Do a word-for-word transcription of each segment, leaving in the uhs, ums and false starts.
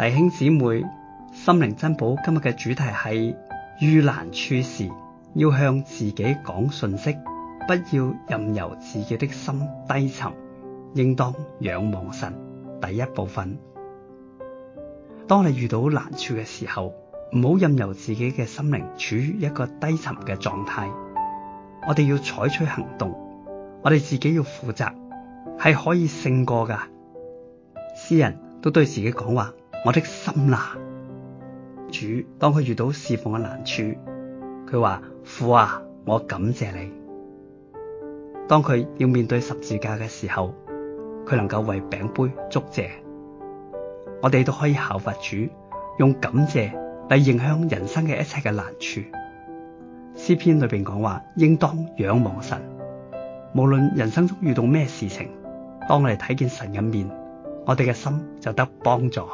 弟兄姊妹，心靈珍寶今日嘅主題係遇難處時要向自己講訊息，不要任由自己的心低沉，應當仰望神。第一部分，當你遇到難處嘅時候，唔好任由自己嘅心靈處於一個低沉嘅狀態。我哋要採取行動，我哋自己要負責，係可以勝過噶。詩人都對自己講話：我的心啊！主當佢遇到侍奉嘅難處，佢話：父啊，我感謝你。當佢要面對十字架嘅時候，佢能夠為餅杯祝謝。我哋都可以效法主，用感謝嚟迎向人生嘅一切嘅難處。詩篇裏邊講話，應當仰望神。無論人生中遇到咩事情，當我哋睇見神嘅面，我哋嘅心就得幫助。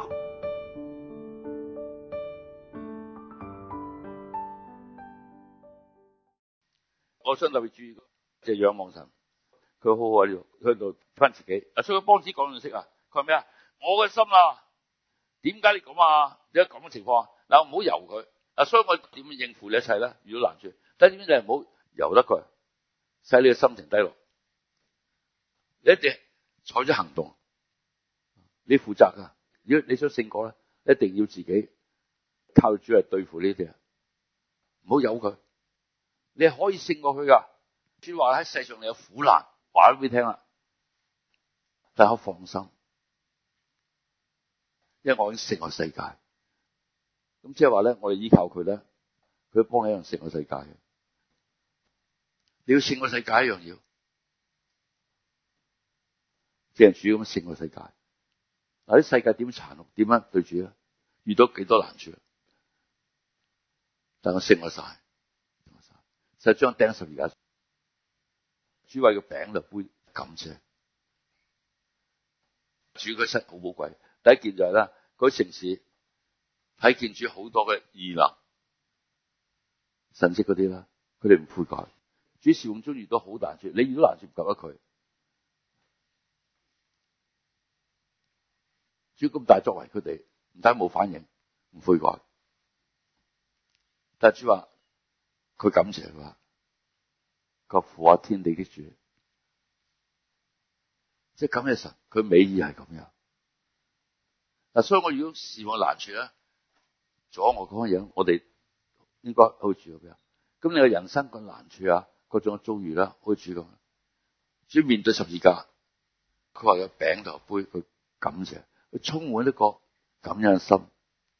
我想特別注意，就係仰望神，佢好好喺度，喺度翻自己。啊，所以幫子講信息啊，佢話咩啊？我嘅心啊，點解你咁啊？點解咁嘅情況啊？嗱，唔好由佢。啊，所以我點樣應付你一切咧？遇到難處，但係點解你唔好由得佢，使你嘅心情低落？你一定採取行動，你負責噶。如果你想勝過咧，一定要自己靠主嚟對付呢啲啊，唔好由佢。你係可以勝過佢噶。主話喺世上你有苦難，話俾你聽啦，但係我放心，因為我已經勝過世界。咁即係話咧，我哋依靠佢咧，佢幫你一樣勝過世界嘅。你要勝過世界一樣要，即係主咁勝過世界。嗱，啲世界點殘酷，點樣對主咧？遇到幾多難處，但我勝過晒，勝過晒。實將釘十字架，主為個餅就杯感謝。主個身好寶貴。第一件就係咧，嗰啲城市睇見主好多嘅異能、神蹟嗰啲啦，佢哋唔悔改。主事奉中遇到好難處，你遇到難處唔及得佢。主咁大作為，佢哋唔單冇反應，唔悔改。但係主話佢感謝佢話，個父啊，天地的主，即係感謝神，佢美意係咁樣。嗱，所以我如果事奉難處咧，阻我講嘅嘢，我哋應該好似咁樣。咁你嘅人生個難處啊，各種嘅遭遇啦，好似咁。主面對十字架，佢話有餅同杯，佢感謝，佢充滿一個感恩嘅心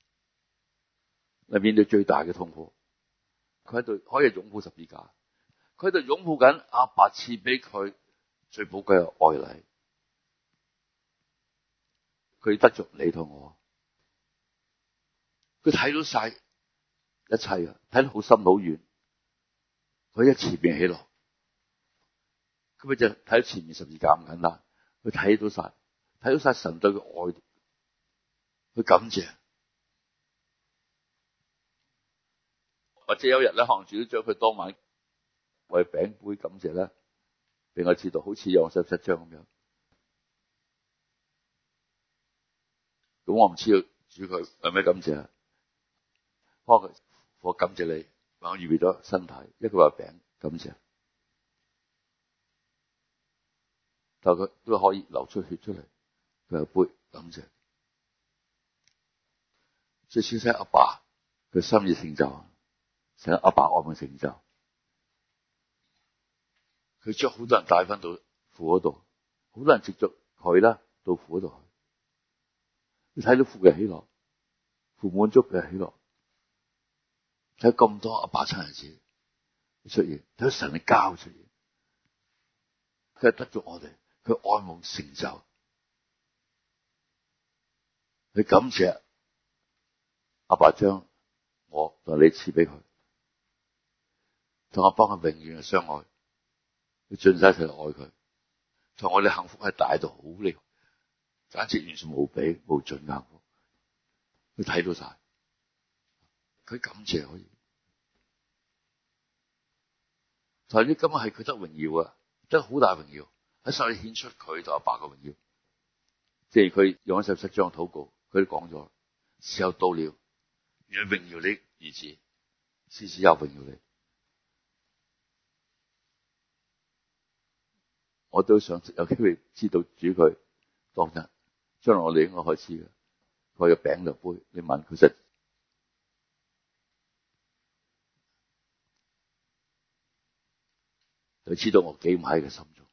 嚟面對最大嘅痛苦。佢喺度可以擁抱十字架，佢喺度擁抱緊阿爸賜俾佢最寶貴嘅愛禮。佢得着你同我，佢睇到晒一切啊，睇到好深好遠。佢一前面起落，咁佢就睇到前面十字架咁簡單。佢睇到晒，睇到晒神對佢愛，佢感謝。或者有日咧，可能主都將佢當晚為餅杯感謝咧，俾我知道，好似約翰十七章咁樣。咁我唔知道主佢有咩感謝，幫佢我感謝你，我預備咗身體，一個話餅感謝，但佢都可以流出血出嚟，佢有杯感謝，最少使阿爸佢心意成就，使阿爸愛嘅成就，佢將好多人帶翻到父嗰度，好多人接觸佢啦，到父嗰度去。你睇到父嘅喜樂，父滿足嘅喜樂，睇咁多阿爸親日子出現，睇到神嘅交出現，佢係得咗我哋，佢愛慕成就，你感謝阿爸將我同你賜俾佢，同阿爸嘅永遠嘅相愛，佢盡晒佢愛佢，同我哋幸福係大到好厲害。簡直完全無比無盡嘅幸福，佢睇到晒，佢感謝可以。但係呢，今日係佢得榮耀啊，得好大榮耀，喺上面顯出佢同阿爸嘅榮耀。即係佢用咗十七章禱告，佢都講咗， 時候到了，願榮耀你兒子，使子又榮耀你。我都想有機會知道主佢當日，將來我哋應該開始嘅。佢有餅兩杯，你問佢實，就知道我幾唔喺佢心中。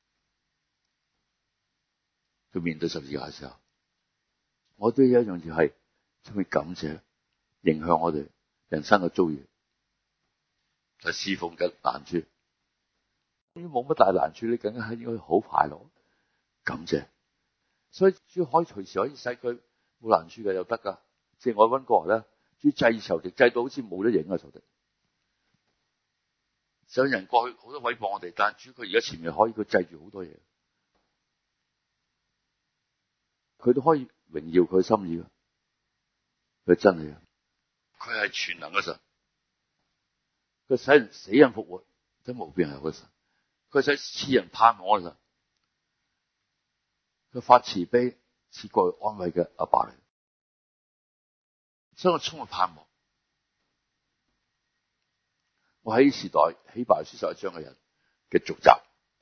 佢面對十字架嘅時候，我都有一樣嘢係，充滿感謝，影響我哋人生嘅遭遇，就侍奉嘅難處。冇乜大難處，你更加係應該好快樂，感謝。所以主可以隨時可以使佢冇難處嘅又得噶。即係我溫哥華咧，主制仇敵，制到好似冇得影啊仇敵。想人過去好多毀謗我哋，但係主佢而家前面可以佢制住好多嘢，佢都可以榮耀佢心意噶。佢真係啊，佢係全能嘅神，佢使人死人復活，都冇邊係個神。佢使賜人盼望嘅神，佢發慈悲賜過去安慰嘅阿爸嚟，所以我充滿盼望。我喺時代希伯來書十一章嘅人嘅續集，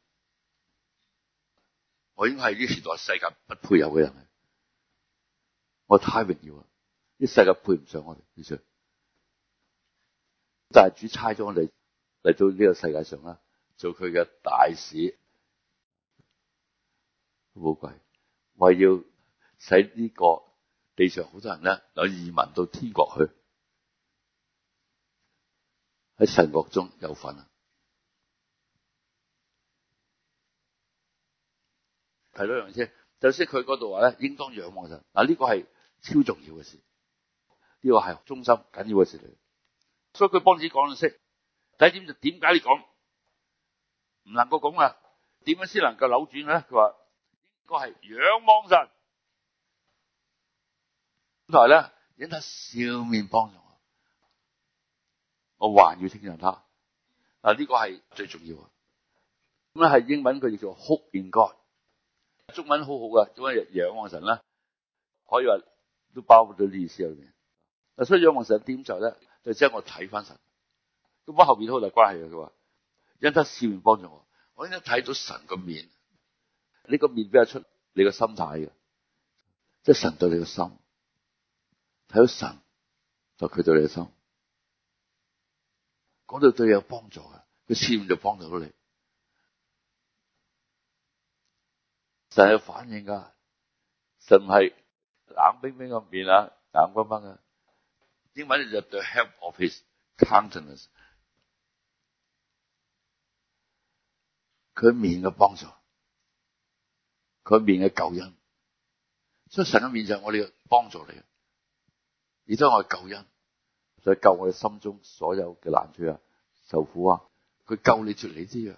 我應該係呢時代世界不配有嘅人，我太榮耀啦！呢世界配唔上我哋，其實，但係主差咗我哋嚟到呢個世界上啦，做佢嘅大使，好寶貴，為要使呢個地上好多人咧有移民到天國去，喺神國中有份啊！睇多樣先，就先佢嗰度話咧，應當仰望神。嗱，呢個係超重要嘅事，呢個係中心緊要嘅事嚟。所以佢幫自己講到識，第一點就點解你講唔能夠咁啊？點樣先能夠扭轉咧？佢話應該係仰望神，同埋咧因他笑面幫助我，我還要稱讚他。嗱，呢個係最重要啊！咁咧係英文佢叫做 hope in God，中文好好噶，中文仰望神啦，可以話都包括咗呢意思入面。嗱，所以仰望神點就咧，就即係我睇翻神。咁我後邊都好大關係嘅。佢話因他笑面幫助我，我應該睇到神個面。呢個面比較出你個心態嘅，即係神對你個心，睇到神就佢對你個心，講到對你有幫助嘅，佢笑面就幫助到你。神有反應噶，神唔係冷冰冰個面啊，硬崩崩嘅。英文就 the help of his countenance， 佢面嘅幫助，佢面嘅救恩。所以神嘅面就係我哋嘅幫助嚟嘅，而都係我嘅救恩，就係救我哋心中所有嘅難處啊、受苦啊，佢救你脫離啲嘅。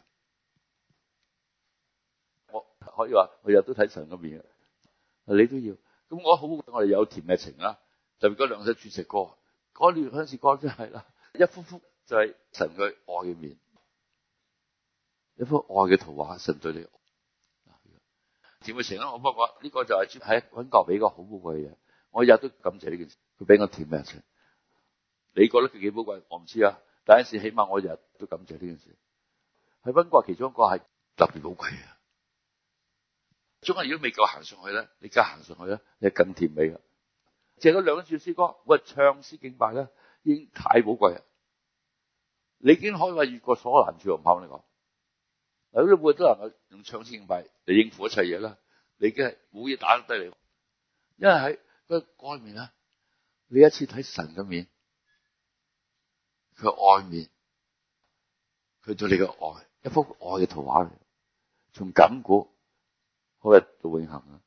我可以話我日日都睇神嘅面，你都要。咁我好，我哋有甜嘅情啦，特別嗰兩首主食歌，嗰段嗰陣時歌真係啦，一幅幅就係神嘅愛嘅面，一幅愛嘅圖畫，神對你甜嘅情啦。我不過呢個就係喺溫哥俾個好寶貴嘅嘢，我日日都感謝呢件事，佢俾我甜嘅情。你覺得佢幾寶貴？我唔知啊，但係一時起碼我日日都感謝呢件事。喺溫哥其中一個係特別寶貴嘅。中間如果未夠行上去咧，你而家行上去咧，你係更甜美嘅。淨係嗰兩句詩歌，我唱詩敬拜咧，已經太寶貴啦。你已經可以話越過所有難處，我唔怕你講。嗱，如果每日都能夠用唱詩敬拜嚟應付一切嘢啦，你已經係冇嘢打得低你。因為喺個外面咧，你一次睇神嘅面，佢愛面，佢對你嘅愛，一幅愛嘅圖畫嚟，從亙古好日到永恆啊，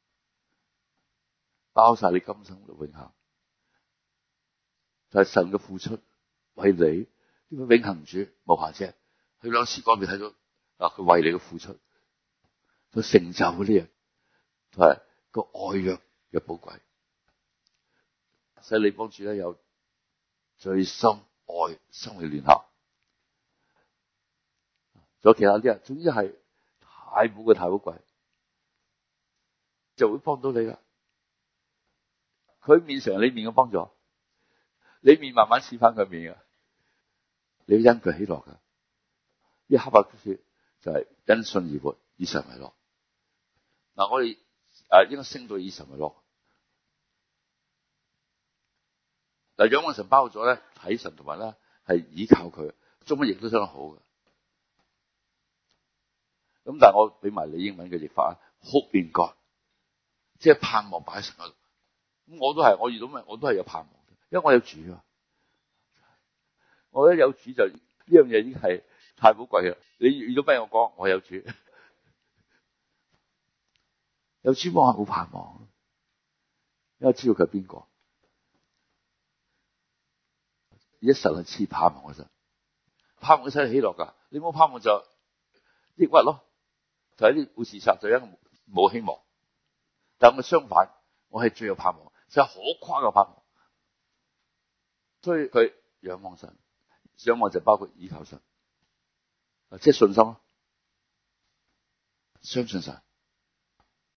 包晒你今生到永恆，就係神嘅付出為你呢個永恆主無瑕疵。佢兩詩歌面睇到嗱，佢為你嘅付出，佢成就嗰啲嘢，係個愛約嘅寶貴，使你幫主咧有最深愛生命聯合。仲有其他啲人，總之係太寶貴太寶貴，就會幫到你啦。 佢面常你面嘅幫助，你面慢慢似翻佢面啊！你要因佢喜樂噶，呢哈巴谷書就係因信而活，以神為樂。嗱，我哋誒應該升到以神為樂。嗱，仰望神包咗咧，睇神同埋咧係依靠佢，中文譯都相當好嘅。咁但係我俾埋你英文嘅譯法啊，Hope in God，即係盼望擺喺神嗰度。咁我都係，我遇到咩我都係有盼望，因為我有主啊。我覺得有主就呢樣嘢已經係太寶貴啦。你遇到咩我講，我有主，有主幫我冇盼望，因為知道佢係邊個。而家神係賜盼望嘅神，盼望使你喜樂噶。你冇盼望就抑鬱咯，就喺啲會自殺，就因為冇希望。但係我相反，我係最有盼望，就係可誇嘅盼望。所以佢仰望神，仰望就包括依靠神，即係信心咯，相信神。